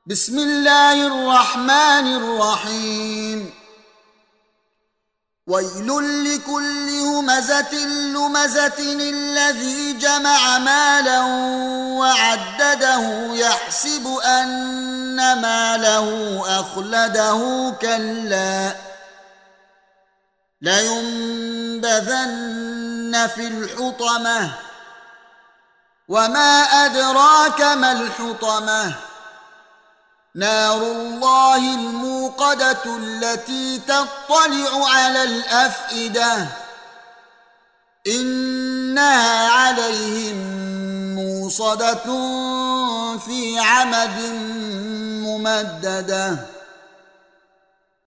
بسم الله الرحمن الرحيم. ويل لكل همزة لمزة الذي جمع مالا وعدده يحسب أن ماله أخلده كلا لينبذن في الحطمة وما أدراك ما الحطمة نار الله الموقدة التي تطلع على الأفئدة إنها عليهم موصدة في عمد ممددة.